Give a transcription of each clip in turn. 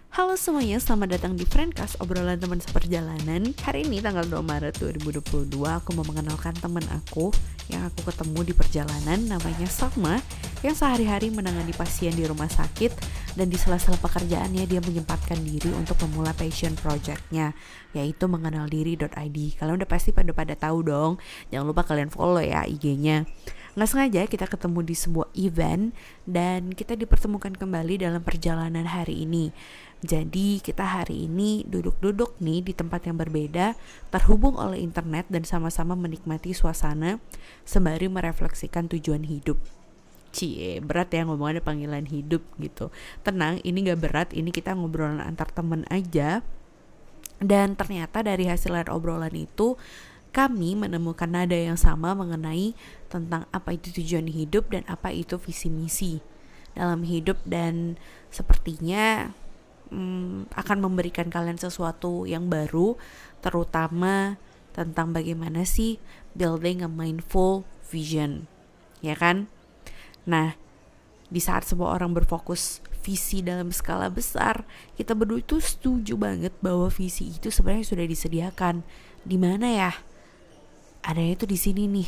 Halo semuanya, selamat datang di Friendcast, obrolan teman seperjalanan. Hari ini tanggal 2 Maret 2022, aku mau mengenalkan teman aku yang aku ketemu di perjalanan, namanya Salma, yang sehari-hari menangani pasien di rumah sakit, dan di sela-sela pekerjaannya dia menyempatkan diri untuk memulai passion project-nya, yaitu mengenaldiri.id. Kalian udah pasti pada tahu dong, jangan lupa kalian follow ya IG-nya. Nggak sengaja kita ketemu di sebuah event dan kita dipertemukan kembali dalam perjalanan hari ini. Jadi kita hari ini duduk-duduk nih di tempat yang berbeda, terhubung oleh internet dan sama-sama menikmati suasana sembari merefleksikan tujuan hidup. Cie, berat ya ngomongnya panggilan hidup gitu. Tenang, ini gak berat, ini kita ngobrolan antar temen aja. Dan ternyata dari hasil obrolan itu kami menemukan nada yang sama mengenai tentang apa itu tujuan hidup dan apa itu visi misi dalam hidup, dan sepertinya akan memberikan kalian sesuatu yang baru, terutama tentang bagaimana sih building a mindful vision, ya kan? Nah, di saat semua orang berfokus visi dalam skala besar, kita berdua itu setuju banget bahwa visi itu sebenarnya sudah disediakan. Di mana ya? Adanya itu di sini nih,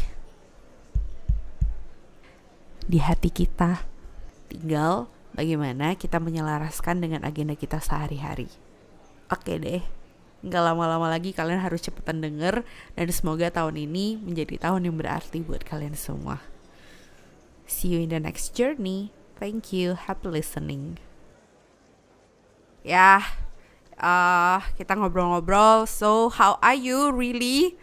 di hati kita. Tinggal bagaimana kita menyelaraskan dengan agenda kita sehari-hari. Oke deh, gak lama-lama lagi kalian harus cepetan denger, dan semoga tahun ini menjadi tahun yang berarti buat kalian semua. See you in the next journey. Thank you, happy listening. Ya, kita ngobrol-ngobrol. So, how are you really?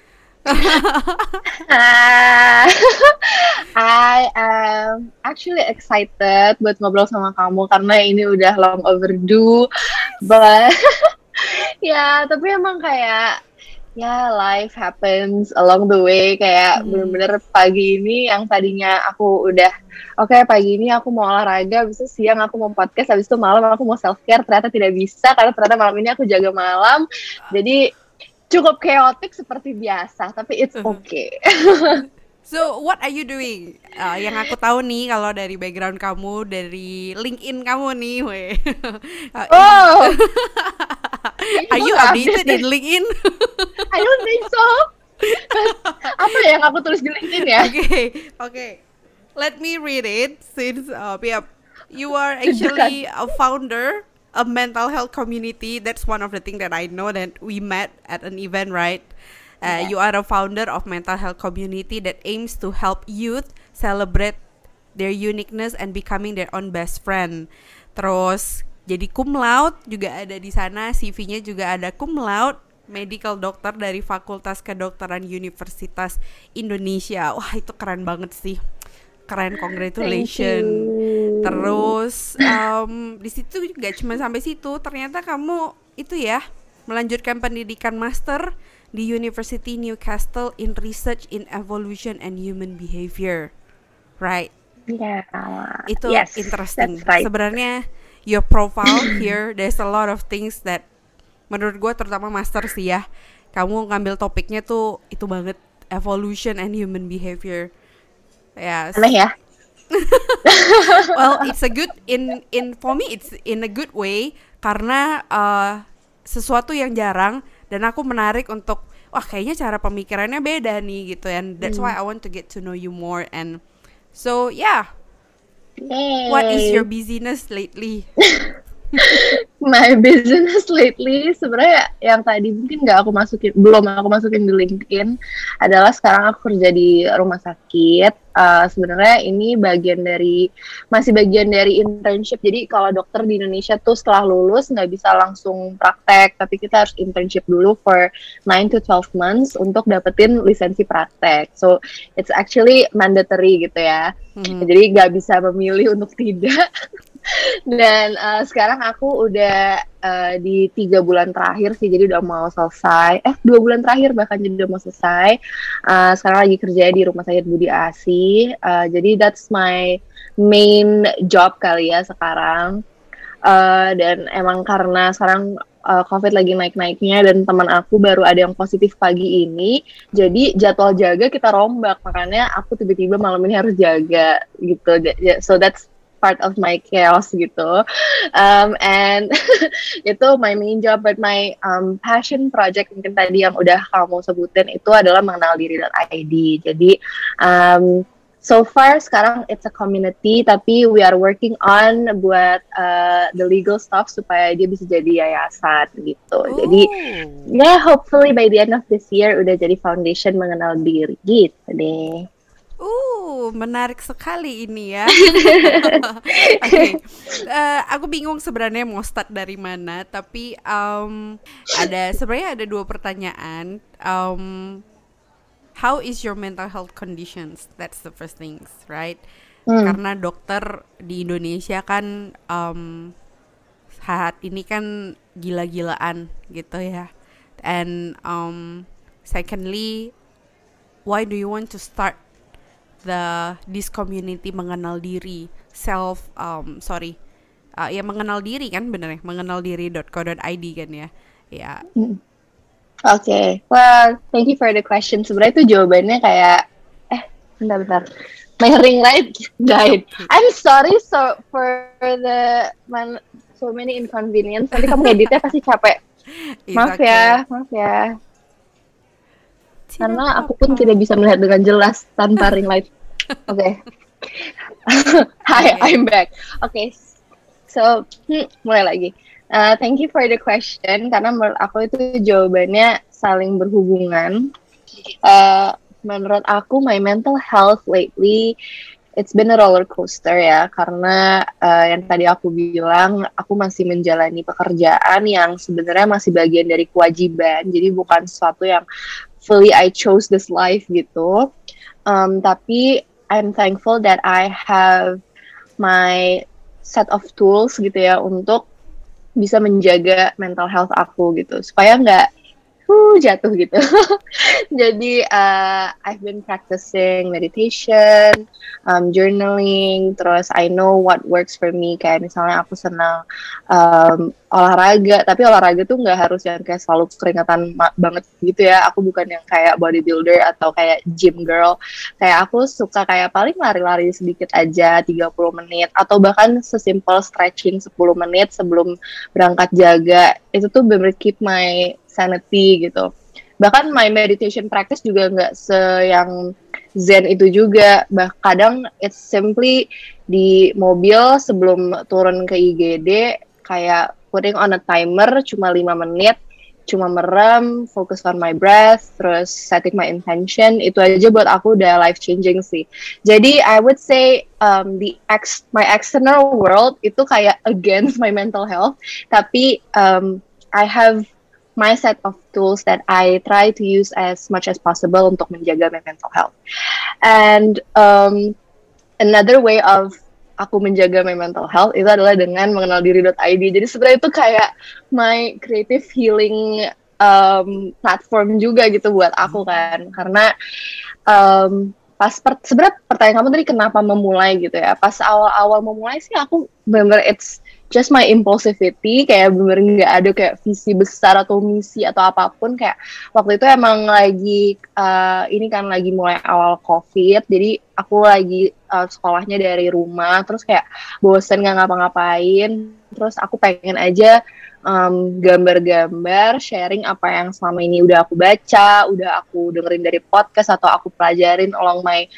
I am actually excited buat ngobrol sama kamu karena ini udah long overdue, but ya tapi emang kayak ya life happens along the way, kayak bener-bener pagi ini yang tadinya aku udah oke, pagi ini aku mau olahraga, habis itu siang aku mau podcast, habis itu malam aku mau self care, ternyata tidak bisa karena ternyata malam ini aku jaga malam, jadi cukup chaotic seperti biasa, tapi it's okay. So, what are you doing? Yang aku tahu nih, kalau dari background kamu, dari LinkedIn kamu nih, weh. Oh, Are you updated in LinkedIn? I don't think so. Apa yang aku tulis di LinkedIn ya? Okay. Let me read it, since you are actually a founder of mental health community. That's one of the things that I know, that we met at an event, right? You are a founder of mental health community that aims to help youth celebrate their uniqueness and becoming their own best friend. Terus jadi cum laude juga ada di sana, CV-nya juga ada cum laude, medical doctor dari Fakultas Kedokteran Universitas Indonesia. Wah, itu keren banget sih. Keren, congratulations. Terus di situ gak cuma sampai situ, ternyata kamu itu ya melanjutkan pendidikan master di University Newcastle in Research in Evolution and Human Behavior, right? Yeah. Itu yes, interesting. Right. Sebenarnya your profile here, there's a lot of things that menurut gue, terutama master sih ya, kamu ngambil topiknya tuh itu banget, evolution and human behavior. Yes. Aneh ya? Well, it's a good in for me, it's in a good way, karena sesuatu yang jarang, dan aku menarik untuk wah, kayaknya cara pemikirannya beda nih gitu, and that's why I want to get to know you more. And so yeah, what is your busyness lately? My business lately sebenarnya yang tadi mungkin belum aku masukin di LinkedIn adalah sekarang aku kerja di rumah sakit. Sebenarnya ini masih bagian dari internship. Jadi kalau dokter di Indonesia tuh setelah lulus nggak bisa langsung praktek, tapi kita harus internship dulu for 9 to 12 months untuk dapetin lisensi praktek. So it's actually mandatory gitu ya. Jadi nggak bisa memilih untuk tidak. Dan sekarang aku udah di 3 bulan terakhir sih, jadi udah mau selesai. 2 bulan terakhir bahkan, jadi udah mau selesai. Sekarang lagi kerja di Rumah Sakit Budi Asi. Jadi that's my main job kali ya sekarang. Dan emang karena sekarang COVID lagi naik-naiknya dan teman aku baru ada yang positif pagi ini, jadi jadwal jaga kita rombak, makanya aku tiba-tiba malam ini harus jaga gitu. So that's part of my chaos gitu. And itu my main job, but my passion project mungkin tadi yang udah kamu sebutin itu adalah mengenal diri.id. Jadi so far sekarang it's a community, tapi we are working on buat the legal stuff supaya dia bisa jadi yayasan gitu. Jadi hopefully by the end of this year udah jadi foundation mengenal diri gitu deh. Menarik sekali ini ya. Okay. Aku bingung sebenarnya mau start dari mana, tapi sebenarnya ada 2 pertanyaan. How is your mental health conditions? That's the first things, right? Karena dokter di Indonesia kan saat ini kan gila-gilaan gitu ya. And secondly, why do you want to start this community mengenal diri, ya mengenal diri kan, bener ya, mengenaldiri.co.id kan ya. Ya. Okay. Well, thank you for the question. Sebenarnya itu jawabannya kayak bentar. My ring light died. I'm sorry for the so many inconvenience. Nanti kamu editnya pasti capek. Maaf ya. Karena aku pun tidak bisa melihat dengan jelas tanpa ring light. Oke. Hi, I'm back. Okay. So, mulai lagi. Thank you for the question, karena menurut aku itu jawabannya saling berhubungan. Menurut aku, my mental health lately, it's been a roller coaster ya, karena yang tadi aku bilang, aku masih menjalani pekerjaan yang sebenarnya masih bagian dari kewajiban, jadi bukan sesuatu yang fully I chose this life gitu. Tapi I'm thankful that I have my set of tools gitu ya untuk bisa menjaga mental health aku gitu supaya nggak jatuh gitu. Jadi I've been practicing meditation, journaling, terus I know what works for me. Kayak misalnya aku senang olahraga, tapi olahraga tuh nggak harus yang kayak selalu keringatan banget gitu ya. Aku bukan yang kayak bodybuilder atau kayak gym girl. Kayak aku suka kayak paling lari-lari sedikit aja 30 menit atau bahkan sesimpel stretching 10 menit sebelum berangkat jaga. Itu tuh bener keep my sanity gitu. Bahkan my meditation practice juga nggak yang zen itu juga. Kadang it's simply di mobil sebelum turun ke IGD kayak putting on a timer cuma 5 menit, cuma merem, focus on my breath, terus setting my intention. Itu aja buat aku udah life changing sih. Jadi I would say my external world itu kayak against my mental health, tapi I have my set of tools that I try to use as much as possible untuk menjaga my mental health. And another way of aku menjaga my mental health itu adalah dengan mengenal diri.id. Jadi sebenarnya itu kayak my creative healing platform juga gitu buat aku kan. Karena sebenarnya pertanyaan kamu tadi kenapa memulai gitu ya. Pas awal-awal memulai sih aku bener it's just my impulsivity, kayak bener nggak ada kayak visi besar atau misi atau apapun. Kayak waktu itu emang lagi ini kan lagi mulai awal COVID, jadi aku lagi sekolahnya dari rumah, terus kayak bosen nggak ngapa-ngapain, terus aku pengen aja gambar-gambar, sharing apa yang selama ini udah aku baca, udah aku dengerin dari podcast atau aku pelajarin along my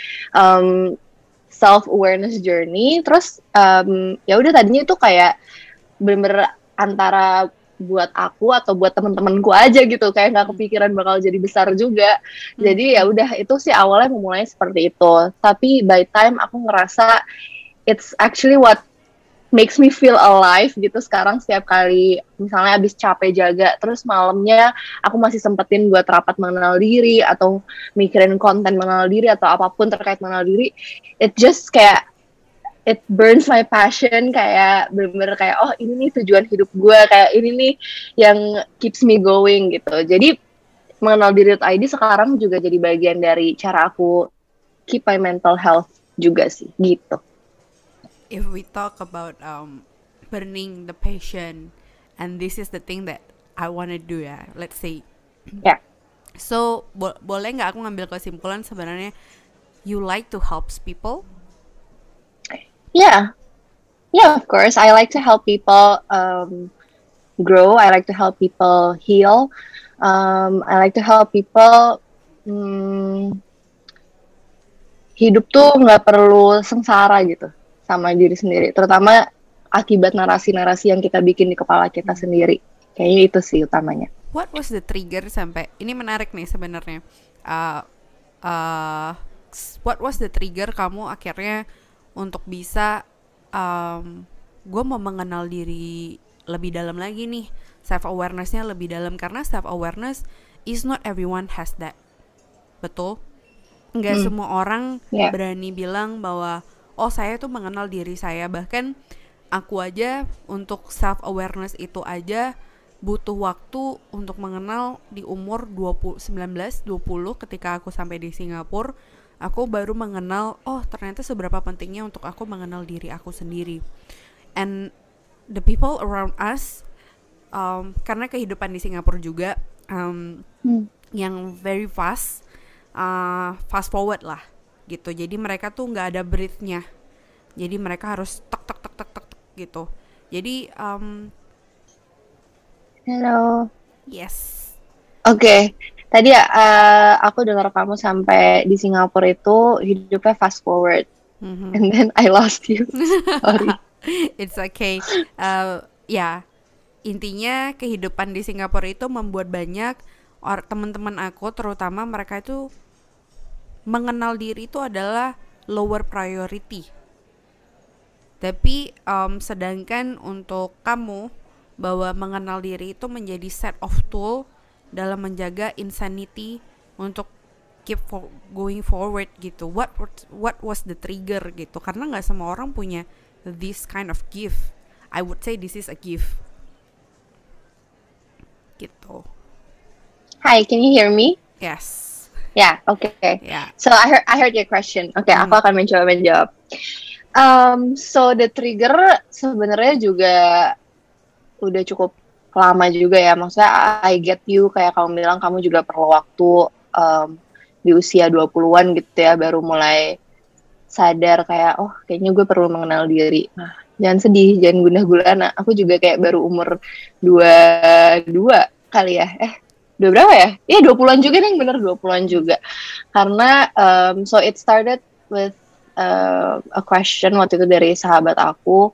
self-awareness journey. Terus ya udah tadinya itu kayak bener-bener antara buat aku atau buat teman-temanku aja gitu, kayak nggak kepikiran bakal jadi besar juga. Jadi ya udah itu sih awalnya memulai seperti itu. Tapi by time aku ngerasa it's actually what makes me feel alive gitu. Sekarang setiap kali misalnya abis capek jaga, terus malamnya aku masih sempetin buat rapat mengenal diri atau mikirin konten mengenal diri atau apapun terkait mengenal diri, it just kayak it burns my passion, kayak bener-bener kayak oh ini nih tujuan hidup gue, kayak ini nih yang keeps me going gitu. Jadi mengenal diri.id sekarang juga jadi bagian dari cara aku keep my mental health juga sih gitu. If we talk about burning the passion, and this is the thing that I wanna do ya, let's say. Yeah. So boleh nggak aku ngambil kesimpulan sebenarnya you like to help people? Yeah, Yeah, of course. I like to help people grow. I like to help people heal. I like to help people hidup tuh nggak perlu sengsara gitu sama diri sendiri. Terutama akibat narasi-narasi yang kita bikin di kepala kita sendiri. Kayaknya itu sih utamanya. What was the trigger sampai ini menarik nih sebenarnya. Uh, uh, what was the trigger kamu akhirnya untuk bisa gue mau mengenal diri lebih dalam lagi nih, self awarenessnya lebih dalam, karena self awareness is not everyone has that, betul? Nggak semua orang berani bilang bahwa oh saya tuh mengenal diri saya. Bahkan aku aja untuk self awareness itu aja butuh waktu untuk mengenal di umur 19-20 ketika aku sampai di Singapura. Aku baru mengenal oh ternyata seberapa pentingnya untuk aku mengenal diri aku sendiri. And the people around us, karena kehidupan di Singapura juga yang very fast forward lah gitu. Jadi mereka tuh nggak ada breath-nya. Jadi mereka harus tek tek tek tek tek gitu. Jadi hello. Yes. Oke. Tadi aku dengar kamu sampai di Singapura itu hidupnya fast forward. And then I lost you. Sorry. It's okay. Ya, intinya kehidupan di Singapura itu membuat banyak teman-teman aku, terutama mereka itu mengenal diri itu adalah lower priority. Tapi sedangkan untuk kamu bahwa mengenal diri itu menjadi set of tool dalam menjaga insanity untuk keep going forward gitu. What was the trigger gitu? Karena nggak semua orang punya this kind of gift. I would say this is a gift. Gitu. Hi, can you hear me? Yes. Yeah, okay. Yeah. So I heard your question. Okay, aku akan mencoba menjawab. So the trigger sebenarnya juga udah cukup lama juga ya. Maksudnya I get you, kayak kamu bilang kamu juga perlu waktu di usia 20-an gitu ya, baru mulai sadar kayak oh kayaknya gue perlu mengenal diri. Nah, jangan sedih, jangan gundah gulana. Aku juga kayak baru umur 22 kali ya. Udah berapa ya? Iya 20-an juga nih, bener 20-an juga. Karena so it started with a question waktu itu dari sahabat aku.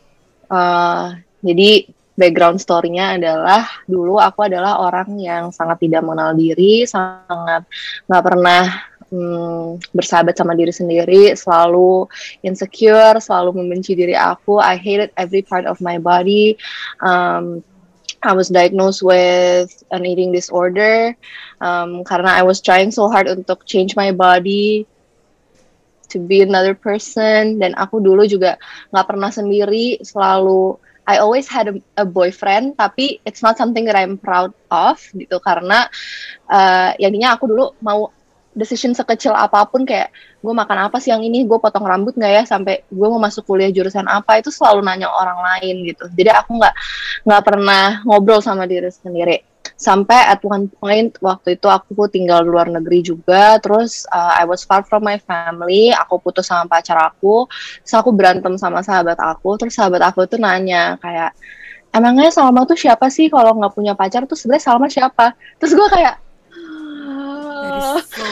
Jadi background story-nya adalah dulu aku adalah orang yang sangat tidak mengenal diri, sangat nggak pernah bersahabat sama diri sendiri, selalu insecure, selalu membenci diri aku. I hated every part of my body. I was diagnosed with an eating disorder karena I was trying so hard untuk change my body to be another person. Dan aku dulu juga nggak pernah sendiri, selalu I always had a boyfriend, tapi it's not something that I'm proud of gitu, karena jadinya aku dulu mau decision sekecil apapun, kayak gue makan apa siang ini, gue potong rambut nggak ya, sampai gue mau masuk kuliah jurusan apa, itu selalu nanya orang lain gitu. Jadi aku nggak pernah ngobrol sama diri sendiri. Sampai at one point waktu itu aku tinggal di luar negeri juga, terus I was far from my family, aku putus sama pacar aku, terus aku berantem sama sahabat aku, terus sahabat aku tuh nanya kayak, emangnya Salma tuh siapa sih, kalau nggak punya pacar tuh sebenarnya Salma siapa? Terus gue kayak that is so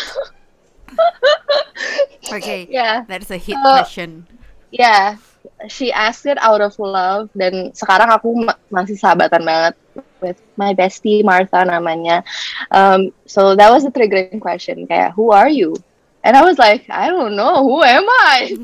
okay, that's a hit question. Yeah, she asked it out of love, dan sekarang aku masih sahabatan banget with my bestie Martha namanya. So that was the triggering question, kayak who are you? And I was like, I don't know, who am I?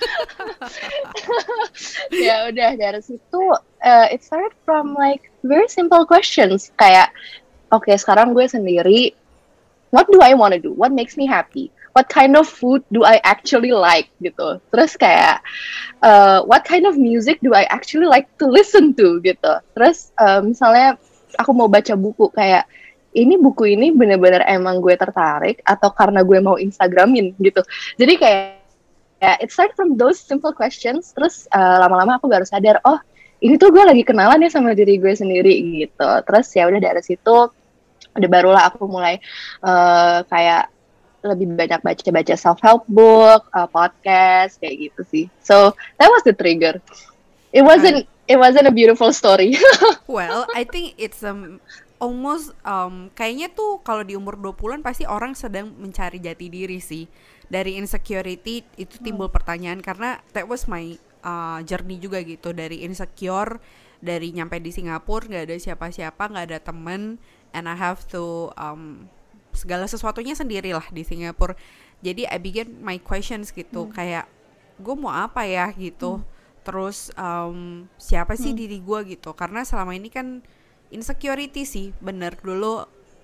Ya udah dari situ it started from like very simple questions, kayak okay, sekarang gue sendiri, what do I want to do? What makes me happy? What kind of food do I actually like gitu. Terus kayak what kind of music do I actually like to listen to gitu. Terus misalnya aku mau baca buku, kayak ini buku ini benar-benar emang gue tertarik atau karena gue mau Instagramin gitu. Jadi kayak it started from those simple questions. Terus lama-lama aku baru sadar, oh ini tuh gue lagi kenalan ya sama diri gue sendiri gitu. Terus ya udah dari situ udah barulah aku mulai kayak lebih banyak baca-baca self-help book, podcast kayak gitu sih. So that was the trigger. It wasn't a beautiful story. Well, I think it's almost kayaknya tuh kalau di umur 20-an pasti orang sedang mencari jati diri sih. Dari insecurity itu timbul pertanyaan, karena that was my journey juga gitu, dari insecure, dari nyampe di Singapura nggak ada siapa-siapa, nggak ada temen, and I have to segala sesuatunya sendirilah di Singapura. Jadi I begin my questions gitu, kayak gue mau apa ya gitu. Terus siapa sih diri gue gitu, karena selama ini kan insecurity sih, bener dulu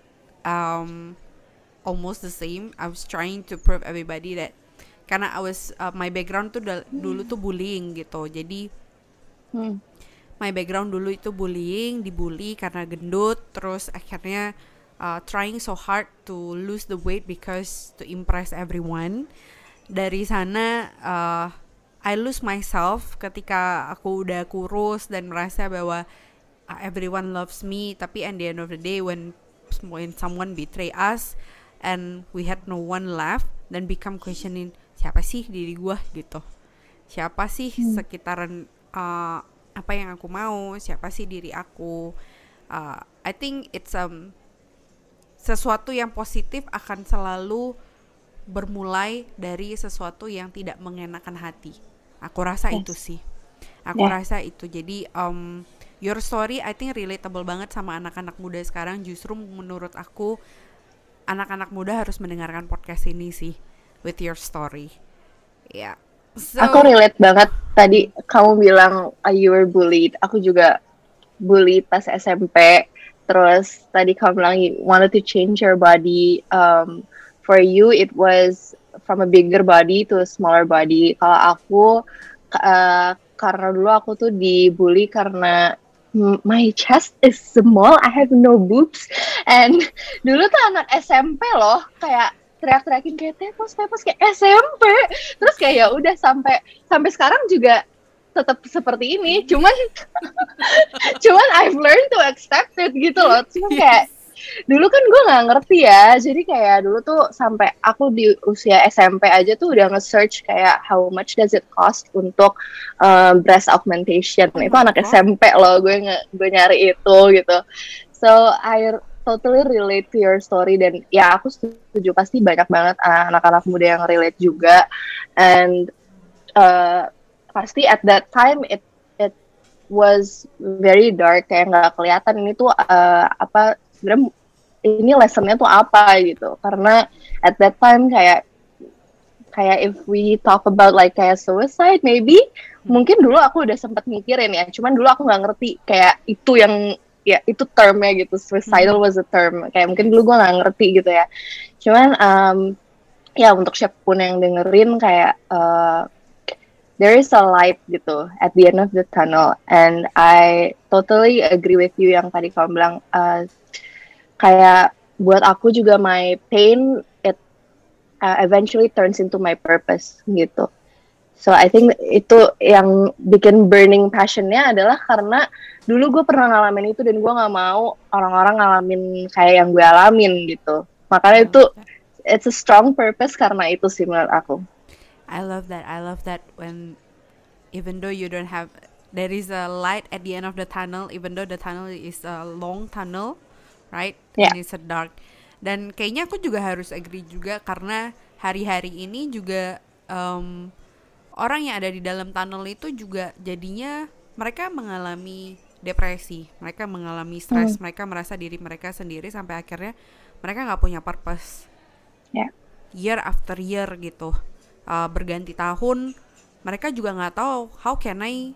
almost the same. I was trying to prove everybody that, karena I was my background tuh dulu tuh bullying gitu. Jadi my background dulu itu bullying, dibully karena gendut. Terus akhirnya trying so hard to lose the weight because to impress everyone. Dari sana I lose myself ketika aku udah kurus dan merasa bahwa everyone loves me. Tapi at the end of the day, when someone betray us and we had no one left, then become questioning, siapa sih diri gue gitu, siapa sih sekitaran apa yang aku mau, siapa sih diri aku. I think it's sesuatu yang positif akan selalu bermulai dari sesuatu yang tidak mengenakan hati. Aku rasa itu sih. Aku rasa itu. Jadi your story I think relatable banget sama anak-anak muda sekarang. Justru menurut aku anak-anak muda harus mendengarkan podcast ini sih, with your story. Ya. Yeah. So, aku relate banget tadi kamu bilang you were bullied. Aku juga bullied pas SMP. Terus tadi kamu bilang you wanted to change your body. For you it was from a bigger body to a smaller body. Kalau aku karena dulu aku tuh dibully karena my chest is small, I have no boobs. And dulu tuh anak SMP loh, kayak teriak-teriakin kayak tepos kayak SMP. Terus kayak ya udah sampai sekarang juga tetap seperti ini. Cuman I've learned to accept it gitu loh. Cuma kayak dulu kan gue nggak ngerti ya, jadi kayak dulu tuh sampai aku di usia SMP aja tuh udah nge-search kayak how much does it cost untuk breast augmentation. Itu anak SMP loh, gue nyari itu gitu. So I totally relate to your story, dan ya aku setuju pasti banyak banget anak-anak muda yang relate juga. And pasti at that time it was very dark, kayak nggak kelihatan ini tuh apa sebenarnya ini lessonnya tuh apa gitu. Karena at that time kayak if we talk about like kayak suicide maybe, mungkin dulu aku udah sempet mikirin ya, cuman dulu aku nggak ngerti kayak itu yang ya itu termnya gitu, suicidal was a term, kayak mungkin dulu gue nggak ngerti gitu ya. Cuman ya untuk siapapun yang dengerin kayak there is a light gitu at the end of the tunnel, and I totally agree with you yang tadi kamu bilang kayak buat aku juga my pain it eventually turns into my purpose gitu. So I think itu yang bikin burning passionnya adalah karena dulu gue pernah ngalamin itu dan gue nggak mau orang-orang ngalamin kayak yang gue alamin gitu. Makanya itu it's a strong purpose karena itu sih menurut aku. I love that when even though you don't have, there is a light at the end of the tunnel, even though the tunnel is a long tunnel, right? Yeah. And it's a dark. Dan kayaknya aku juga harus agree juga, karena hari-hari ini juga orang yang ada di dalam tunnel itu juga jadinya mereka mengalami depresi, mereka mengalami stres, mereka merasa diri mereka sendiri sampai akhirnya mereka nggak punya purpose. Year after year gitu. Berganti tahun mereka juga nggak tahu how can I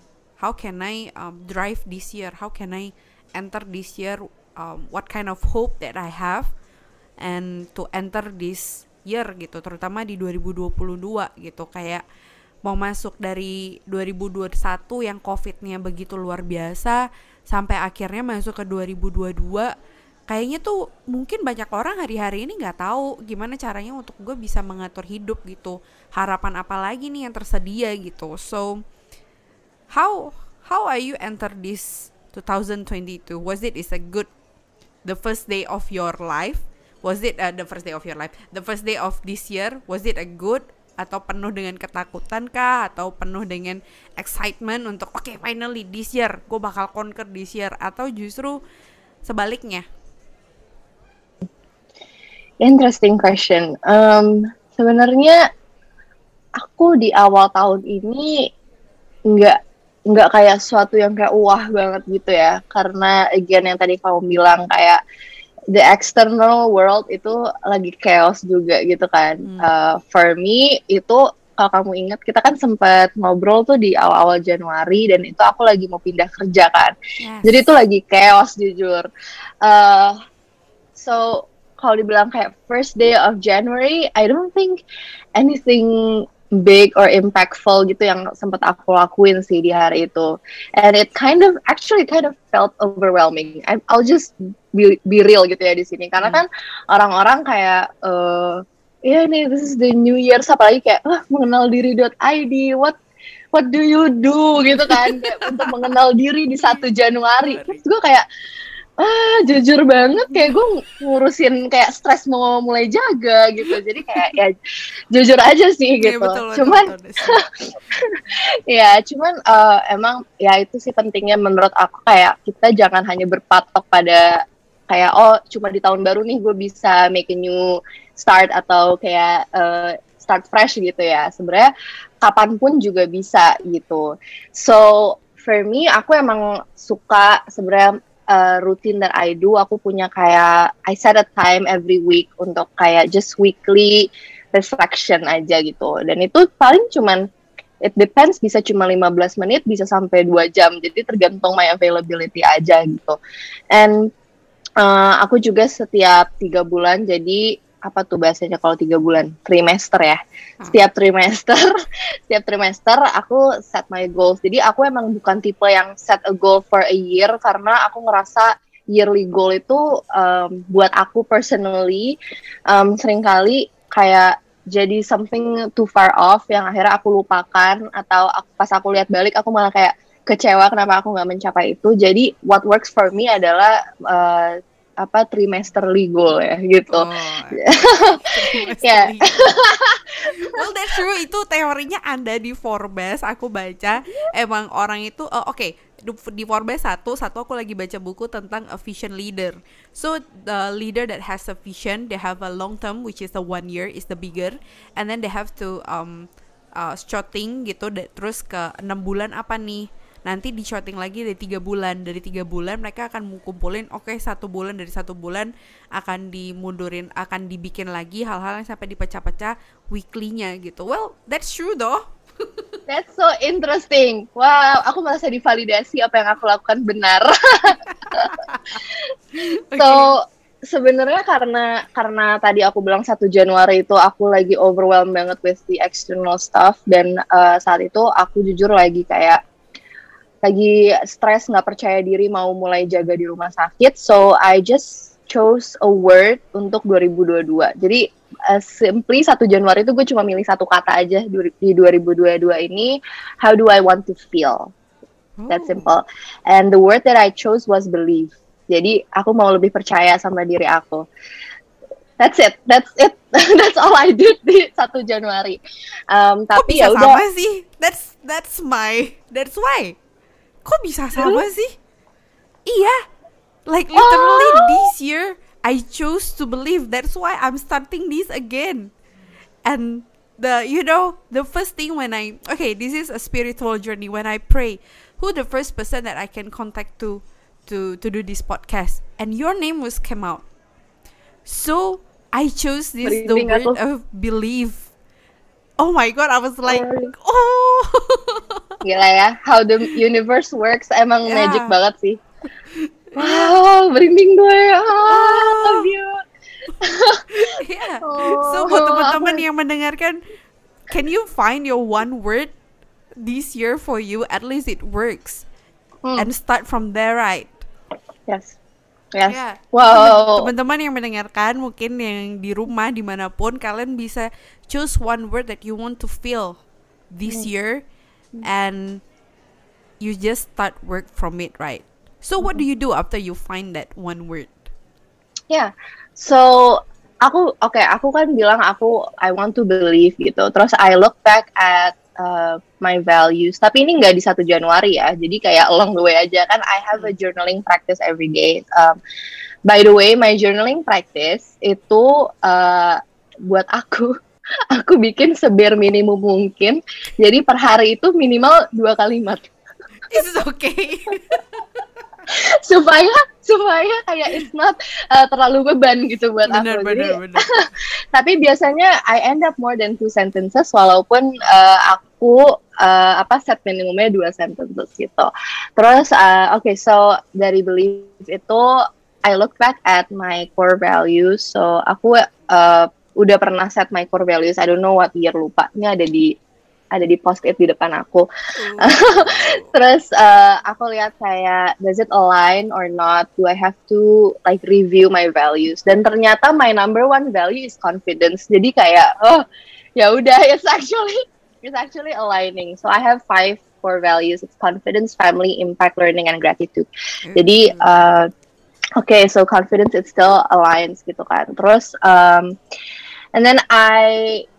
drive this year, how can I enter this year, what kind of hope that I have and to enter this year gitu, terutama di 2022 gitu. Kayak mau masuk dari 2021 yang COVID-nya begitu luar biasa sampai akhirnya masuk ke 2022. Kayaknya tuh mungkin banyak orang hari-hari ini gak tahu gimana caranya untuk gue bisa mengatur hidup gitu. Harapan apa lagi nih yang tersedia gitu. So, how are you enter this 2022? Was it the first day of your life Was it the first day of your life? The first day of this year, was it a good atau penuh dengan ketakutan kah? Atau penuh dengan excitement untuk okay, finally this year gue bakal conquer this year? Atau justru sebaliknya? Interesting question. Sebenarnya aku di awal tahun ini nggak kayak sesuatu yang kayak wah banget gitu ya, karena again yang tadi kamu bilang kayak the external world itu lagi chaos juga gitu kan. For me itu kalau kamu ingat kita kan sempat ngobrol tuh di awal-awal Januari dan itu aku lagi mau pindah kerja kan. Yes. Jadi itu lagi chaos jujur. So kalau dibilang kayak first day of January, I don't think anything big or impactful gitu yang sempat aku lakuin sih di hari itu. And it kind of felt overwhelming. I'll just be real gitu ya di sini. Karena kan orang-orang kayak ya nih this is the new year, apalagi kayak mengenal diri.id, what do you do gitu kan untuk mengenal diri di 1 Januari. Terus gue kayak jujur banget kayak gue ngurusin kayak stres mau mulai jaga gitu, jadi kayak ya jujur aja sih gitu. Cuman emang ya itu sih pentingnya menurut aku, kayak kita jangan hanya berpatok pada kayak cuma di tahun baru nih gue bisa make a new start atau kayak start fresh gitu ya. Sebenarnya kapanpun juga bisa gitu. So for me aku emang suka sebenarnya routine that I do, aku punya kayak I set a time every week untuk kayak just weekly reflection aja gitu. Dan itu paling cuman it depends, bisa cuma 15 menit, bisa sampai 2 jam. Jadi tergantung my availability aja gitu. And aku juga setiap 3 bulan, jadi apa tuh bahasanya kalau 3 bulan? Trimester ya. Setiap trimester aku set my goals. Jadi aku emang bukan tipe yang set a goal for a year, karena aku ngerasa yearly goal itu buat aku personally seringkali kayak jadi something too far off yang akhirnya aku lupakan, atau pas aku lihat balik aku malah kayak kecewa kenapa aku nggak mencapai itu. Jadi what works for me adalah trimesterly goal ya gitu. Yeah. Well, that's true. Itu teorinya ada di Forbes. Aku baca emang orang itu di Forbes satu aku lagi baca buku tentang a vision leader. So the leader that has a vision, they have a long term, which is the 1 year is the bigger, and then they have to shooting gitu. Terus ke 6 bulan apa nih? Nanti di shooting lagi dari 3 bulan. Dari 3 bulan mereka akan kumpulin 1 bulan, dari 1 bulan akan dimundurin, akan dibikin lagi hal-hal yang sampai dipecah-pecah weekly-nya gitu. Well, that's true though. That's so interesting. Wow, aku merasa divalidasi apa yang aku lakukan benar. Okay. So sebenarnya karena tadi aku bilang 1 Januari itu aku lagi overwhelmed banget with the external stuff, dan saat itu aku jujur lagi stres, nggak percaya diri, mau mulai jaga di rumah sakit. So I just chose a word untuk 2022. Jadi simply 1 Januari itu gue cuma milih 1 kata aja di 2022 ini. How do I want to feel? That's simple. And the word that I chose was believe. Jadi aku mau lebih percaya sama diri aku. That's it. That's all I did di 1 Januari. Tapi ya udah. Sama sih. That's why. Kok bisa sama sih? Iya. Like literally this year I chose to believe. That's why I'm starting this again. And the first thing when this is a spiritual journey. When I pray, who the first person that I can contact to do this podcast? And your name came out. So I chose the word of believe. Oh my God, I was like, Gila ya, how the universe works emang magic banget sih. Wow, merinding gue. Love you. Yeah. So buat teman-teman yang mendengarkan, can you find your one word this year for you? At least it works. And start from there, right? Yes. Yes. Yeah. Wow. Teman-teman yang mendengarkan, mungkin yang di rumah dimanapun, kalian bisa choose one word that you want to feel this year, and you just start work from it, right? So what do you do after you find that one word? Yeah. So aku kan bilang I want to believe gitu. Terus I look back at my values. Tapi ini nggak di 1 Januari ya. Jadi kayak along the way aja kan. I have a journaling practice every day. By the way, my journaling practice itu buat aku bikin sebare minimum mungkin. Jadi per hari itu minimal 2 kalimat. It's okay. supaya kayak it's not terlalu beban gitu buat aku. Bener. Tapi biasanya I end up more than 2 sentences walaupun aku set minimumnya 2 sentences gitu. Terus so dari belief itu I look back at my core values. So aku udah pernah set my core values. I don't know what year, lupa. Ini ada di post-it di depan aku. Terus aku lihat kayak does it align or not? Do I have to like review my values? Dan ternyata my number one value is confidence. Jadi kayak ya udah it's actually aligning. So I have 5 core values. It's confidence, family, impact, learning, and gratitude. Jadi so confidence it still aligns gitu kan. Terus and then I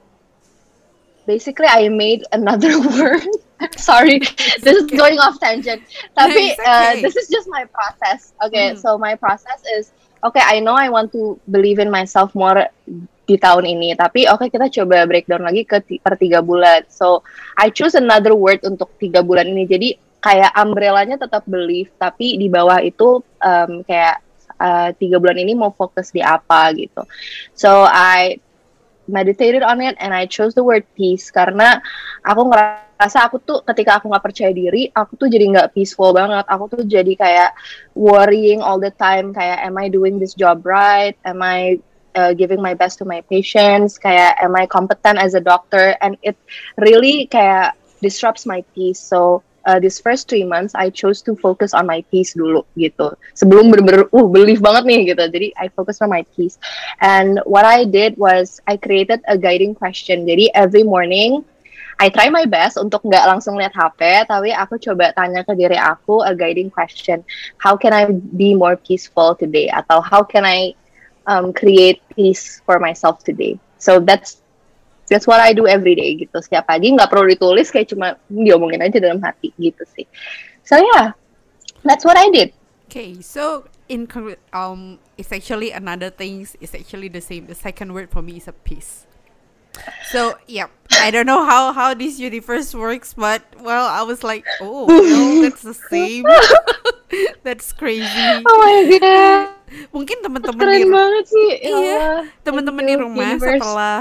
made another word. Sorry, this is going off tangent. Tapi this is just my process. So my process is I know I want to believe in myself more di tahun ini. Tapi kita coba breakdown lagi per 3 bulan. So I choose another word untuk 3 bulan ini. Jadi kayak umbrellanya tetap belief, tapi di bawah itu kayak 3 bulan ini mau fokus di apa gitu. So I meditated on it and I chose the word peace karena aku ngerasa aku tuh ketika aku nggak percaya diri, aku tuh jadi nggak peaceful banget. Aku tuh jadi kayak worrying all the time, kayak am I doing this job right? Am I giving my best to my patients? Kayak am I competent as a doctor? And it really kayak disrupts my peace. So this first 3 months I chose to focus on my peace dulu gitu. Sebelum bener-bener belief banget nih gitu. Jadi I focus on my peace. And what I did was I created a guiding question. Jadi every morning I try my best untuk nggak langsung lihat HP, tapi aku coba tanya ke diri aku a guiding question. How can I be more peaceful today? Atau how can I create peace for myself today? So that's what I do every day gitu. Setiap pagi nggak perlu ditulis, kayak cuma diomongin aja dalam hati gitu sih. So yeah, that's what I did. Okay, so it's actually another things. It's actually the same. The second word for me is a peace. So yeah, I don't know how this universe works, but well, I was like, oh no, that's the same. That's crazy. Oh my god. Mungkin teman-teman keren banget sih. Iya, teman-teman di rumah universe. Setelah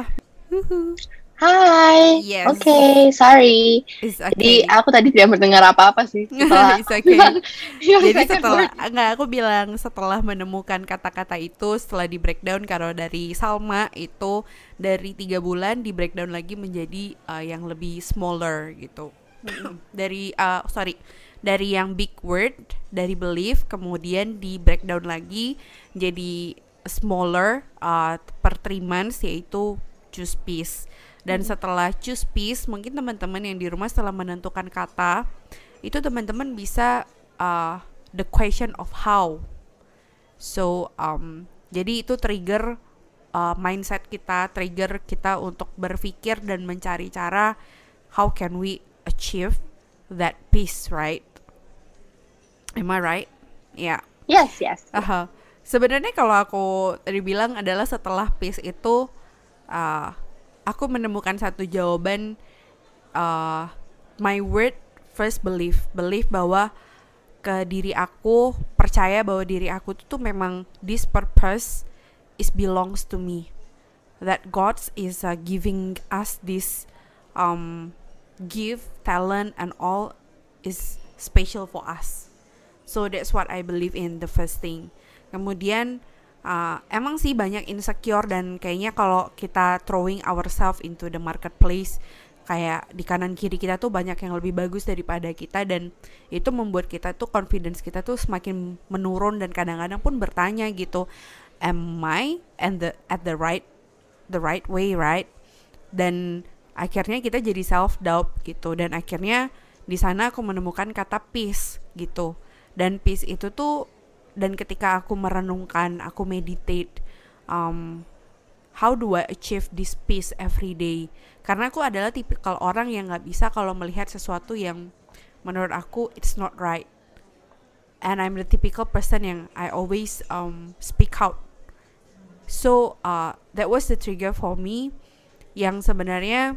Hai. Yes. Okay, sorry. It's okay. Jadi aku tadi tidak mendengar apa-apa sih. It's okay. Jadi aku bilang setelah menemukan kata-kata itu, setelah di breakdown kalau dari Salma itu dari 3 bulan di breakdown lagi menjadi yang lebih smaller gitu. Dari yang big word, dari belief, kemudian di breakdown lagi jadi smaller per 3 months, yaitu choose peace. Dan setelah choose peace, mungkin teman-teman yang di rumah setelah menentukan kata itu, teman-teman bisa the question of how. So jadi itu trigger mindset kita, trigger kita untuk berpikir dan mencari cara how can we achieve that peace, right? Am I right? Yeah. Yes. Sebenarnya kalau aku tadi bilang adalah setelah peace itu aku menemukan satu jawaban. My word first belief bahwa ke diri aku, percaya bahwa diri aku tuh memang this purpose is belongs to me, that God is giving us this gift, talent and all is special for us. So that's what I believe in, the first thing. Kemudian emang sih banyak insecure, dan kayaknya kalau kita throwing ourselves into the marketplace, kayak di kanan kiri kita tuh banyak yang lebih bagus daripada kita, dan itu membuat kita tuh confidence kita tuh semakin menurun, dan kadang-kadang pun bertanya gitu, am I at the right way, right? Dan akhirnya kita jadi self doubt gitu, dan akhirnya di sana aku menemukan kata peace gitu. Dan peace itu tuh, dan ketika aku merenungkan, aku meditate, how do I achieve this peace every day. Karena aku adalah tipikal orang yang gak bisa kalau melihat sesuatu yang menurut aku it's not right. And I'm the typical person yang I always speak out. So that was the trigger for me, yang sebenarnya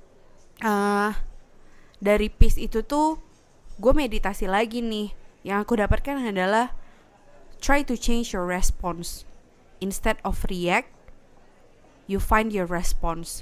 dari peace itu tuh gue meditasi lagi nih. Yang aku dapatkan adalah try to change your response. Instead of react, you find your response.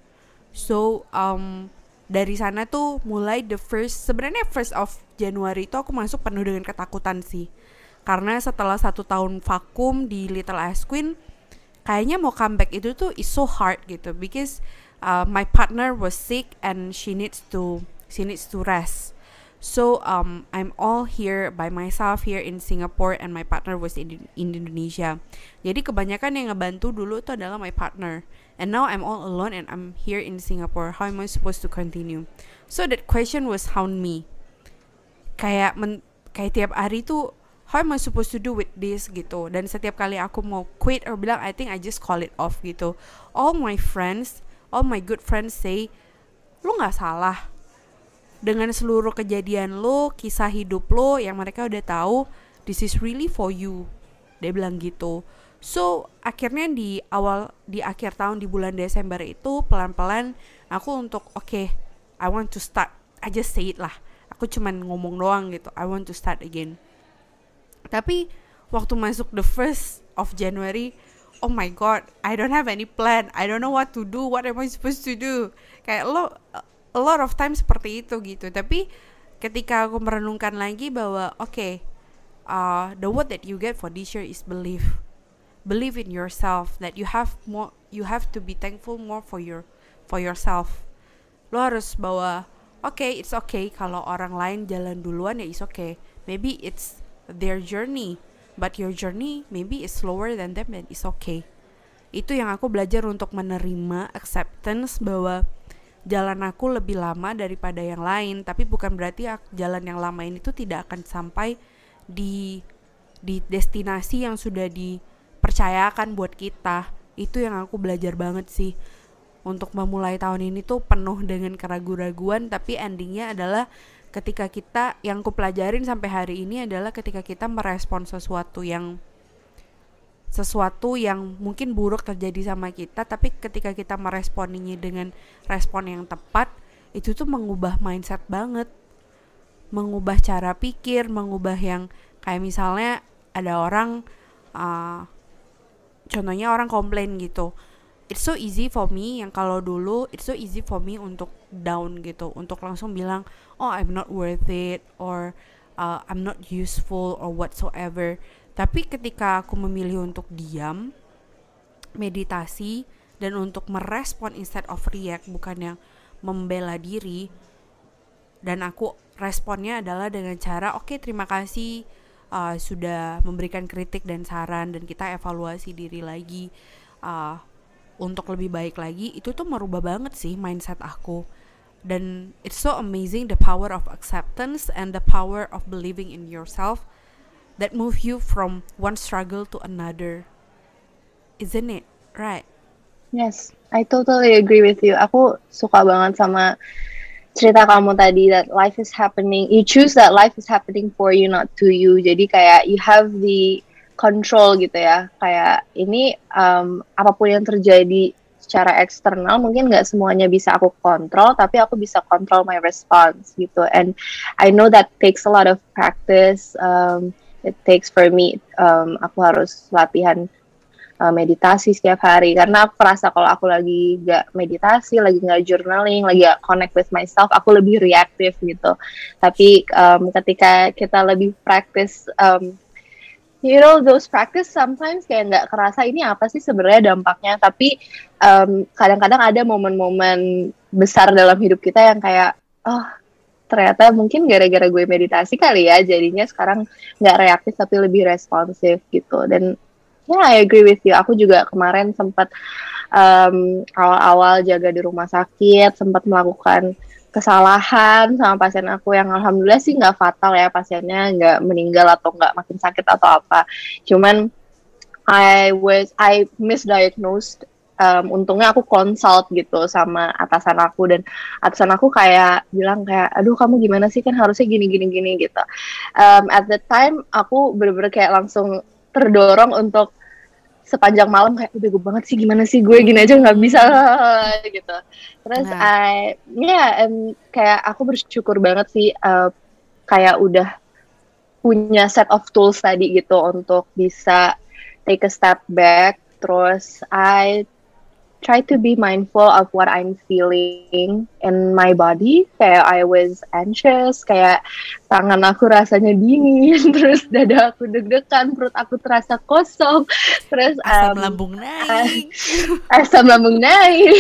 So dari sana tuh mulai sebenarnya first of January itu aku masuk penuh dengan ketakutan sih. Karena setelah 1 tahun vakum di Little Ice Queen, kayaknya mau comeback itu tuh is so hard gitu, because my partner was sick and she needs to rest. So I'm all here by myself here in Singapore, and my partner was in Indonesia. Jadi kebanyakan yang ngebantu dulu itu adalah my partner, and now I'm all alone and I'm here in Singapore. How am I supposed to continue? So that question was haunt me. Kayak tiap hari tuh, how am I supposed to do with this gitu. Dan setiap kali aku mau quit or bilang I think I just call it off gitu, all my good friends say, lu gak salah dengan seluruh kejadian lo, kisah hidup lo yang mereka udah tahu, this is really for you. Dia bilang gitu. So akhirnya di akhir tahun di bulan Desember itu pelan-pelan aku untuk okay, I want to start. I just say it lah. Aku cuman ngomong doang gitu, I want to start again. Tapi waktu masuk the 1st of January, oh my god, I don't have any plan. I don't know what to do. What am I supposed to do? Kayak a lot of times seperti itu gitu. Tapi ketika aku merenungkan lagi bahwa okay, the word that you get for this year is believe. Believe in yourself, that you have to be thankful more for yourself. Lo harus bawa okay, it's okay kalau orang lain jalan duluan, ya it's okay. Maybe it's their journey, but your journey maybe is slower than them, and it's okay. Itu yang aku belajar untuk menerima acceptance bahwa jalan aku lebih lama daripada yang lain, tapi bukan berarti jalan yang lama ini tuh tidak akan sampai di destinasi yang sudah dipercayakan buat kita. Itu yang aku belajar banget sih. Untuk memulai tahun ini tuh penuh dengan keraguan-raguan, tapi endingnya adalah ketika kita, yang aku pelajarin sampai hari ini adalah ketika kita merespon sesuatu yang mungkin buruk terjadi sama kita, tapi ketika kita meresponinya dengan respon yang tepat, itu tuh mengubah mindset banget, mengubah cara pikir, mengubah yang kayak misalnya ada orang contohnya orang komplain gitu, it's so easy for me, yang kalau dulu it's so easy for me untuk down gitu, untuk langsung bilang oh I'm not worth it, or I'm not useful or whatsoever. Tapi ketika aku memilih untuk diam, meditasi, dan untuk merespon instead of react, bukan yang membela diri, dan aku responnya adalah dengan cara okay, terima kasih sudah memberikan kritik dan saran, dan kita evaluasi diri lagi untuk lebih baik lagi. Itu tuh merubah banget sih mindset aku. Dan it's so amazing the power of acceptance and the power of believing in yourself that move you from one struggle to another. Isn't it? Right? Yes, I totally agree with you. Aku suka banget sama cerita kamu tadi, that life is happening. You choose that life is happening for you, not to you. Jadi kayak you have the control gitu ya. Kayak ini apapun yang terjadi secara eksternal mungkin nggak semuanya bisa aku kontrol, tapi aku bisa kontrol my response gitu. And I know that takes a lot of practice. It takes for me, aku harus latihan meditasi setiap hari, karena aku merasa kalau aku lagi gak meditasi, lagi gak journaling, lagi gak connect with myself, aku lebih reaktif gitu. Tapi ketika kita lebih practice, those practice sometimes kayak gak kerasa ini apa sih sebenarnya dampaknya, tapi kadang-kadang ada momen-momen besar dalam hidup kita yang kayak ternyata mungkin gara-gara gue meditasi kali ya, jadinya sekarang gak reaktif tapi lebih responsif gitu. Dan I agree with you. Aku juga kemarin sempat awal-awal jaga di rumah sakit, sempat melakukan kesalahan sama pasien aku yang alhamdulillah sih gak fatal ya, pasiennya gak meninggal atau gak makin sakit atau apa. Cuman I misdiagnosed untungnya aku consult gitu sama atasan aku, dan atasan aku kayak bilang kayak, aduh kamu gimana sih, kan harusnya gini gini gini gitu. At the time aku bener-bener kayak langsung terdorong untuk sepanjang malam kayak bego banget sih, gimana sih gue gini aja nggak bisa gitu. Terus Nah, kayak aku bersyukur banget sih, kayak udah punya set of tools tadi gitu untuk bisa take a step back. Terus I try to be mindful of what I'm feeling in my body. Kayak I was anxious, kayak tangan aku rasanya dingin, terus dada aku deg-degan, perut aku terasa kosong, terus asam lambung naik. asam lambung naik.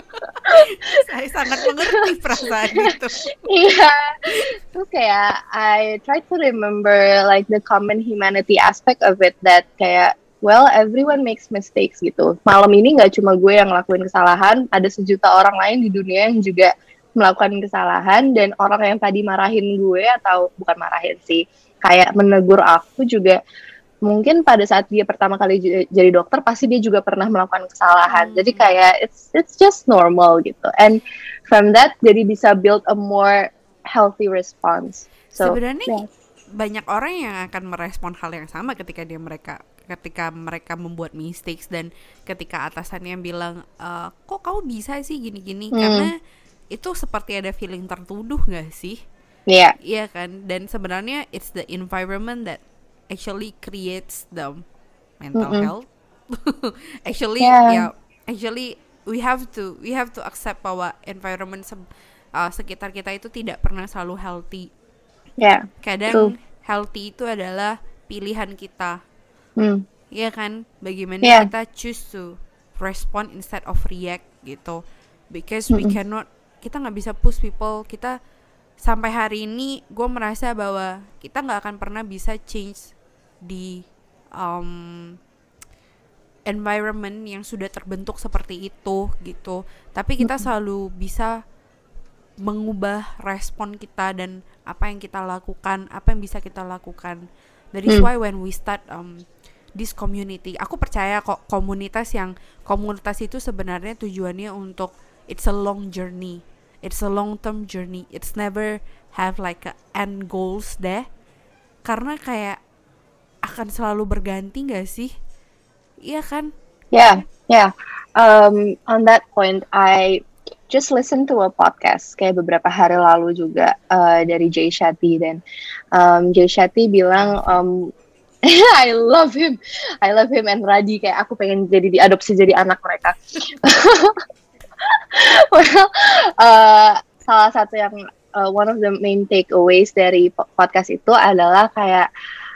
Saya sangat mengerti perasaan itu. Iya, terus kayak I try to remember like the common humanity aspect of it, that kayak well, everyone makes mistakes gitu. Malam ini nggak cuma gue yang ngelakuin kesalahan, ada sejuta orang lain di dunia yang juga melakukan kesalahan, dan orang yang tadi marahin gue, atau bukan marahin sih, kayak menegur aku juga, mungkin pada saat dia pertama kali jadi dokter pasti dia juga pernah melakukan kesalahan. Jadi kayak it's just normal gitu. And from that jadi bisa build a more healthy response. So Sebenarnya banyak orang yang akan merespon hal yang sama ketika mereka membuat mistakes, dan ketika atasannya bilang kok kamu bisa sih gini-gini, karena itu seperti ada feeling tertuduh nggak sih? Iya. Iya kan? Dan sebenarnya it's the environment that actually creates the mental health. Actually we have to accept bahwa environment sekitar kita itu tidak pernah selalu healthy. Kadang healthy itu adalah pilihan kita. Iya kan? Bagaimana kita choose to respond instead of react gitu. Because kita nggak bisa push people. Kita sampai hari ini gue merasa bahwa kita nggak akan pernah bisa change di environment yang sudah terbentuk seperti itu gitu. Tapi kita selalu bisa mengubah respon kita dan apa yang kita lakukan, apa yang bisa kita lakukan. That is why when we start this community, aku percaya kok komunitas itu sebenarnya tujuannya untuk it's a long journey, it's a long term journey, it's never have like a end goals deh, karena kayak akan selalu berganti gak sih? Iya kan? Yeah. On that point, I just listen to a podcast kayak beberapa hari lalu juga dari Jay Shetty, dan Jay Shetty bilang I love him and Radi, kayak aku pengen diadopsi jadi anak mereka. Well, salah satu yang one of the main takeaways dari podcast itu adalah kayak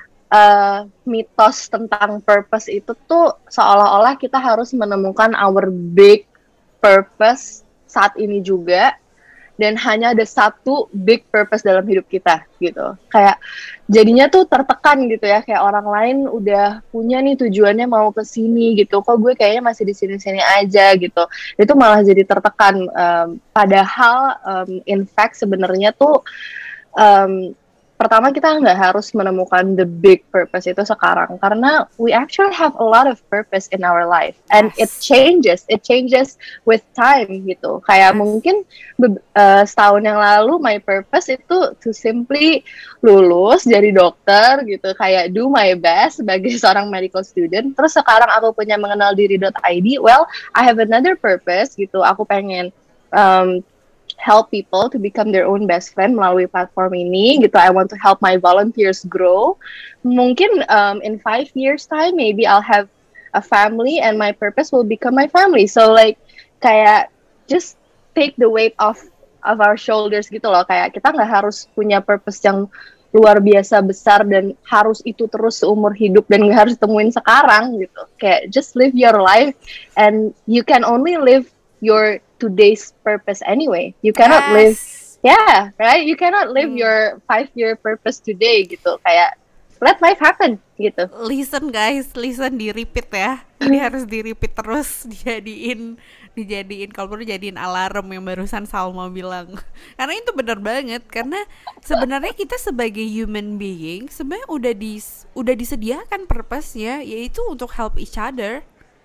mitos tentang purpose itu tuh seolah-olah kita harus menemukan our big purpose saat ini juga, dan hanya ada satu big purpose dalam hidup kita gitu. Kayak jadinya tuh tertekan gitu ya, kayak orang lain udah punya nih tujuannya mau ke sini gitu, kok gue kayaknya masih di sini-sini aja gitu. Itu malah jadi tertekan, padahal in fact sebenarnya tuh pertama kita nggak harus menemukan the big purpose itu sekarang, karena we actually have a lot of purpose in our life, and it changes with time gitu. Kayak mungkin setahun yang lalu my purpose itu to simply lulus jadi dokter gitu, kayak do my best sebagai seorang medical student. Terus sekarang aku punya mengenaldiri.id, well I have another purpose gitu, aku pengen help people to become their own best friend melalui platform ini gitu. I want to help my volunteers grow. Mungkin in 5 years time maybe I'll have a family and my purpose will become my family. So like kayak just take the weight off of our shoulders gitu loh. Kayak kita nggak harus punya purpose yang luar biasa besar dan harus itu terus seumur hidup dan nggak harus temuin sekarang gitu. Kayak just live your life, and you can only live your today's purpose anyway. You cannot live, right? You cannot live your 5-year purpose today gitu. Kayak let life happen gitu. Listen guys, di repeat ya. Ini harus di repeat terus, dijadiin kalau perlu jadiin alarm yang barusan Salma bilang. Karena itu benar banget, karena sebenarnya kita sebagai human being sebenarnya udah disediakan purpose-nya, yaitu untuk help each other.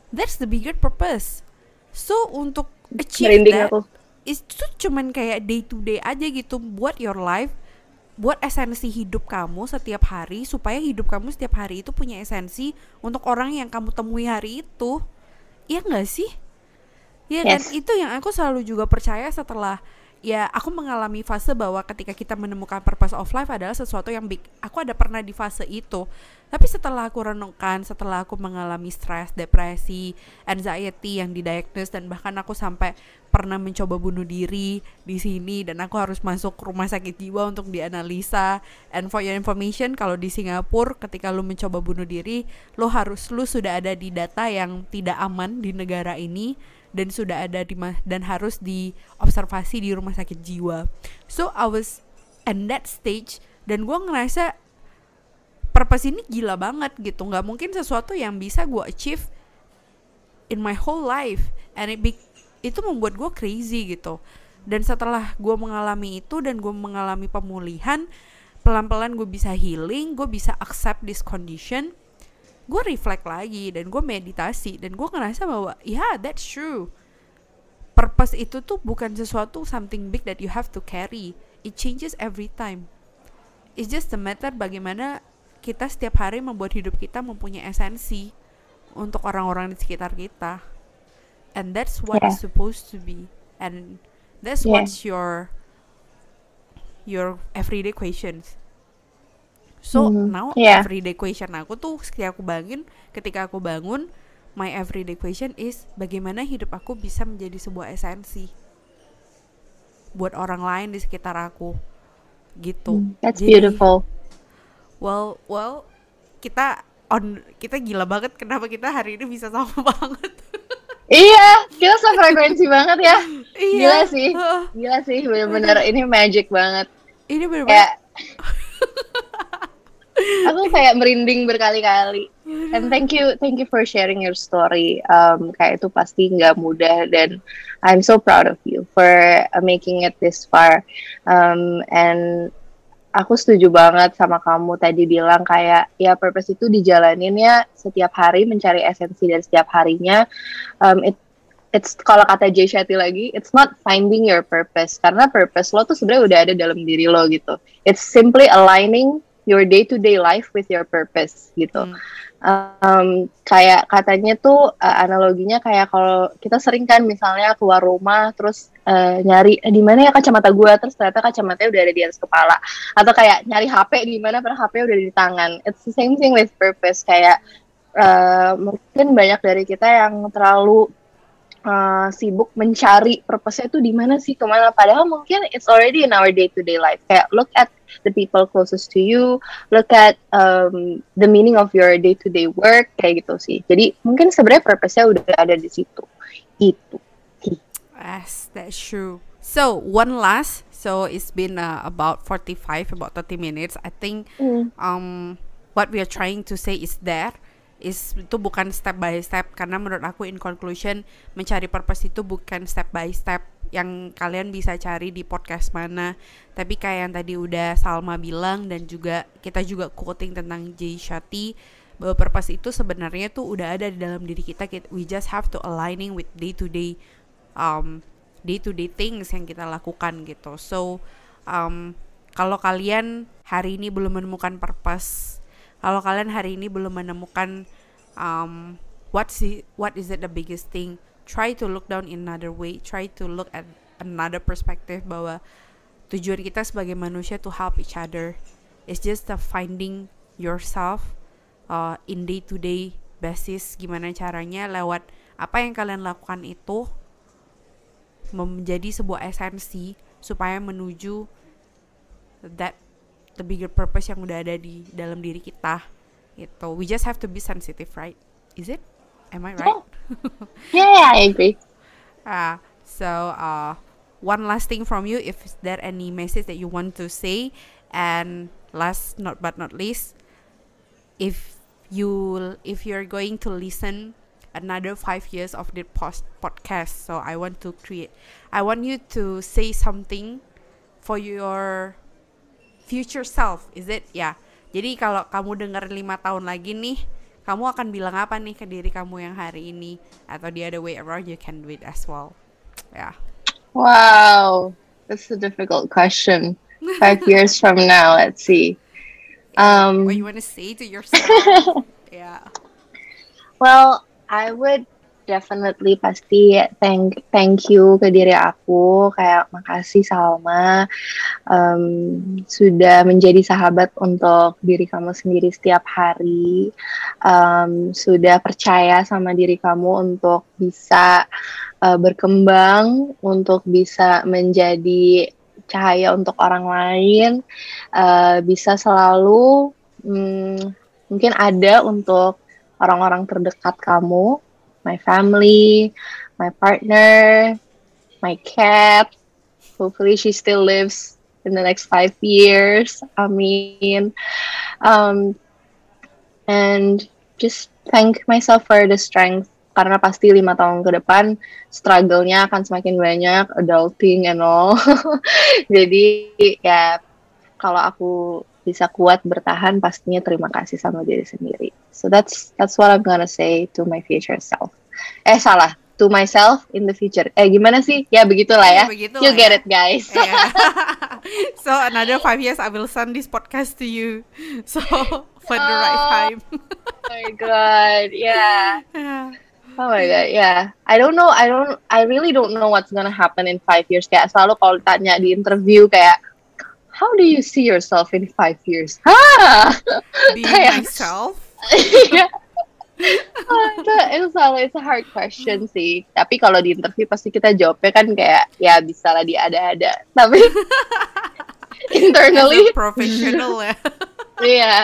That's the bigger purpose. So untuk achieve Merinding that, aku. itu cuman kayak day to day aja gitu, buat your life, buat esensi hidup kamu setiap hari, supaya hidup kamu setiap hari itu punya esensi untuk orang yang kamu temui hari itu. Iya nggak sih? Ya kan, Yes. itu yang aku selalu juga percaya setelah ya aku mengalami fase bahwa ketika kita menemukan purpose of life adalah sesuatu yang big. Aku ada pernah di fase itu. Tapi setelah aku renungkan, setelah aku mengalami stres, depresi, anxiety yang didiagnose, dan bahkan aku sampai pernah mencoba bunuh diri di sini, dan aku harus masuk rumah sakit jiwa untuk dianalisa. And for your information, kalau di Singapura ketika lu mencoba bunuh diri, lu sudah ada di data yang tidak aman di negara ini, dan sudah ada dan harus diobservasi di rumah sakit jiwa. So I was in that stage, dan gue ngerasa purpose ini gila banget gitu, nggak mungkin sesuatu yang bisa gue achieve in my whole life, and itu membuat gue crazy gitu. Dan setelah gue mengalami itu dan gue mengalami pemulihan, pelan-pelan gue bisa healing, gue bisa accept this condition, gue reflect lagi dan gue meditasi, dan gue ngerasa bahwa yeah, that's true. Purpose itu tuh bukan sesuatu something big that you have to carry. It changes every time. It's just a matter bagaimana kita setiap hari membuat hidup kita mempunyai esensi untuk orang-orang di sekitar kita. And that's what Yeah. is supposed to be. And that's Yeah. what's your everyday questions. So now Yeah. everyday question aku tuh ketika aku bangun, my everyday question is bagaimana hidup aku bisa menjadi sebuah esensi buat orang lain di sekitar aku gitu. That's Jadi, beautiful. well, kita gila banget kenapa kita hari ini bisa sama banget. Iya, kita sefrekuensi banget ya. Iya. Gila sih, bener-bener ini magic banget. Ini bener-bener Kayak aku kayak merinding berkali-kali. And thank you for sharing your story. Kayak itu pasti nggak mudah, dan I'm so proud of you for making it this far. And aku setuju banget sama kamu tadi bilang kayak ya purpose itu dijalanin ya setiap hari, mencari esensi dari setiap harinya. It's kalau kata Jay Shetty lagi, it's not finding your purpose, karena purpose lo tuh sebenarnya udah ada dalam diri lo gitu. It's simply aligning your day-to-day life with your purpose gitu. Kayak katanya tuh analoginya kayak kalau kita sering kan misalnya keluar rumah terus nyari di mana ya kacamata gue, terus ternyata kacamatanya udah ada di atas kepala, atau kayak nyari HP di mana padahal HP udah di tangan. It's the same thing with purpose. Kayak mungkin banyak dari kita yang terlalu sibuk mencari purpose-nya itu di mana sih, kemana, padahal mungkin it's already in our day-to-day life. Kayak look at the people closest to you, look at the meaning of your day-to-day work, kayak gitu sih. Jadi mungkin sebenarnya purpose-nya udah ada di situ. Itu. Yes, that's true. So one last, so it's been about 30 minutes. I think what we are trying to say is that itu bukan step by step, karena menurut aku in conclusion mencari purpose itu bukan step by step yang kalian bisa cari di podcast mana, tapi kayak yang tadi udah Salma bilang dan juga kita juga quoting tentang Jay Shetty, bahwa purpose itu sebenarnya tuh udah ada di dalam diri kita. We just have to aligning with day to day things yang kita lakukan gitu. So kalau kalian hari ini belum menemukan purpose, kalau kalian hari ini belum menemukan what is it the biggest thing, try to look down in another way, try to look at another perspective, bahwa tujuan kita sebagai manusia to help each other. It's just the finding yourself in day to day basis, gimana caranya lewat apa yang kalian lakukan itu menjadi sebuah esensi supaya menuju that the bigger purpose yang udah ada di dalam diri kita gitu. We just have to be sensitive, right? Is it? Am I right? Yeah, I agree. So one last thing from you, if there any message that you want to say, and last but not least, if you're going to listen another 5 years of the podcast, so I want you to say something for your future self. Is it? Ya. Jadi kalau kamu dengar 5 tahun lagi nih, kamu akan bilang apa nih ke diri kamu yang hari ini? Atau the other way around, you can do it as well. Ya. Wow, that's a difficult question. 5 years from now, let's see. What you want to say to yourself? Yeah. Well, I would definitely pasti thank you ke diri aku, kayak makasih Salma, sudah menjadi sahabat untuk diri kamu sendiri setiap hari, sudah percaya sama diri kamu untuk bisa berkembang, untuk bisa menjadi cahaya untuk orang lain, bisa selalu mungkin ada untuk orang-orang terdekat kamu, my family, my partner, my cat. Hopefully she still lives in the next 5 years. Amin. And just thank myself for the strength, karena pasti 5 tahun ke depan struggle-nya akan semakin banyak, adulting and all. Jadi ya kalau aku bisa kuat bertahan, pastinya terima kasih sama diri sendiri. So that's what I'm gonna say to my future self. Salah, to myself in the future. Gimana sih? Ya begitulah ya. Begitulah you get ya. it, guys. Yeah. So another 5 years I will send this podcast to you. So for the right time. Oh my god, yeah. Yeah. Oh my god, yeah. I really don't know what's gonna happen in 5 years. Kayak selalu kalau tanya di interview kayak, how do you see yourself in 5 years? Being myself. It's a hard question sih. Tapi kalau di interview pasti kita jawabnya kan kayak ya bisa lah diada-ada. Tapi internally as a professional ya. Yeah.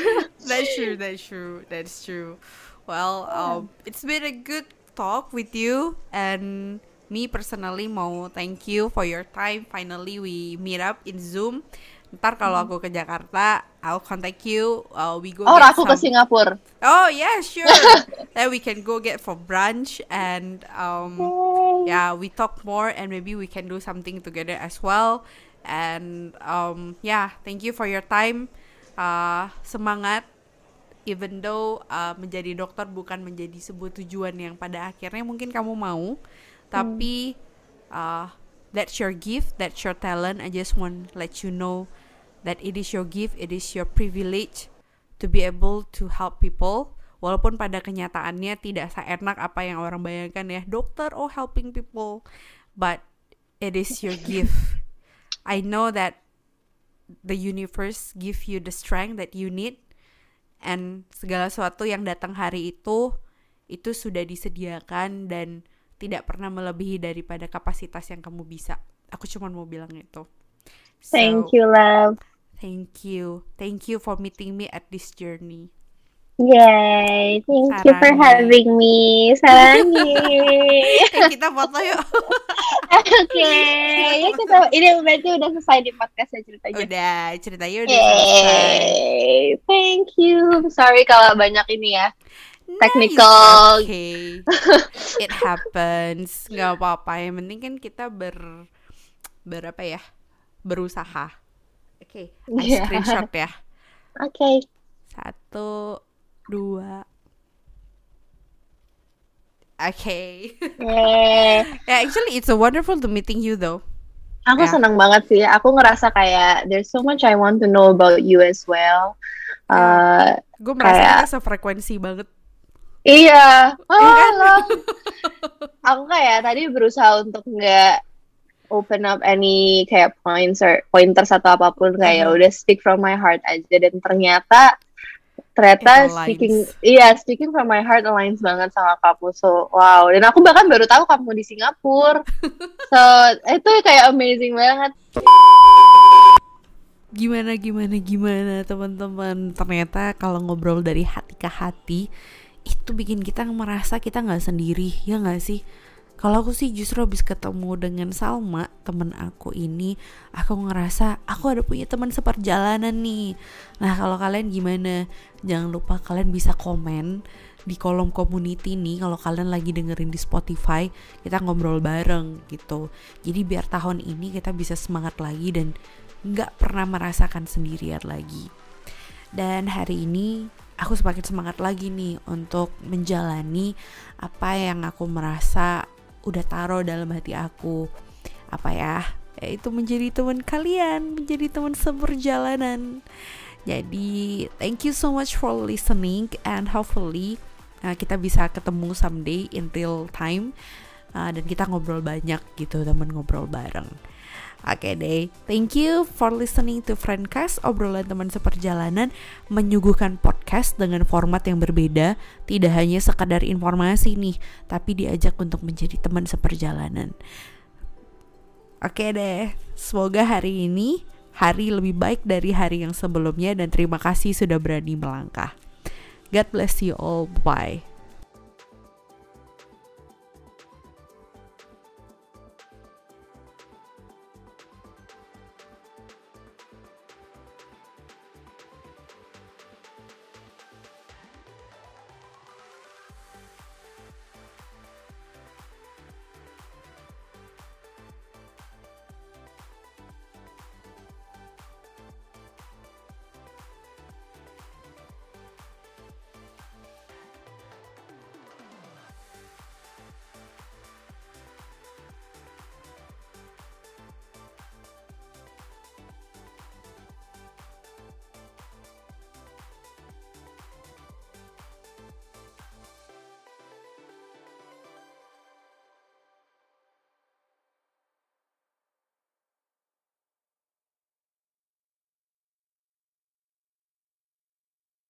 That's true. Well, it's been a good talk with you, and me personally mau thank you for your time. Finally we meet up in Zoom. Ntar kalau aku ke Jakarta, I'll contact you. We go. Aku ke Singapura. Oh yeah, sure. Then we can go get for brunch, and yeah, we talk more, and maybe we can do something together as well. And yeah, thank you for your time. Semangat. Even though menjadi dokter bukan menjadi sebuah tujuan yang pada akhirnya mungkin kamu mau, tapi that's your gift, that's your talent. I just want to let you know that it is your gift, it is your privilege to be able to help people. Walaupun pada kenyataannya tidak seenak apa yang orang bayangkan ya, dokter helping people, but it is your gift. I know that the universe give you the strength that you need, and segala sesuatu yang datang hari itu sudah disediakan dan tidak pernah melebihi daripada kapasitas yang kamu bisa. Aku cuma mau bilang itu. Thank you, love. Thank you for meeting me at this journey. Yay, thank you for having me. Sarangi. Kita foto yuk. Okay. Ya kita, ini berarti udah selesai di podcast ya ceritanya. Ceritanya udah selesai. Thank you. Sorry kalau banyak ini ya. Technical. Okay. It happens. Gak apa-apa. Yang penting kan kita berusaha. Okay. I screenshot ya. Okay. 1, 2. Okay. Yeah, actually it's a wonderful to meeting you though. Aku senang banget sih. Aku ngerasa kayak there's so much I want to know about you as well. Gue merasa kita sefrekuensi banget. Iya. Aku kayak tadi berusaha untuk nggak open up any kayak pointers atau apapun, kayak udah speak from my heart aja, dan ternyata speaking from my heart aligns banget sama kamu. So wow, dan aku bahkan baru tahu kamu di Singapura. So itu kayak amazing banget. Gimana teman-teman, ternyata kalau ngobrol dari hati ke hati itu bikin kita merasa kita nggak sendiri, ya nggak sih? Kalau aku sih justru habis ketemu dengan Salma, temen aku ini, aku ngerasa aku ada punya teman seperjalanan nih. Nah kalau kalian gimana? Jangan lupa kalian bisa komen di kolom community nih kalau kalian lagi dengerin di Spotify, kita ngobrol bareng gitu. Jadi biar tahun ini kita bisa semangat lagi dan gak pernah merasakan sendirian lagi. Dan hari ini aku semakin semangat lagi nih untuk menjalani apa yang aku merasa udah taruh dalam hati aku. Apa ya? Yaitu menjadi teman kalian, menjadi teman seperjalanan. Jadi, thank you so much for listening, and hopefully kita bisa ketemu someday in real time, dan kita ngobrol banyak gitu, teman ngobrol bareng. Oke deh, thank you for listening to Friendcast, obrolan teman seperjalanan, menyuguhkan podcast dengan format yang berbeda, tidak hanya sekadar informasi nih, tapi diajak untuk menjadi teman seperjalanan. Oke deh, semoga hari ini hari lebih baik dari hari yang sebelumnya, dan terima kasih sudah berani melangkah. God bless you all, bye.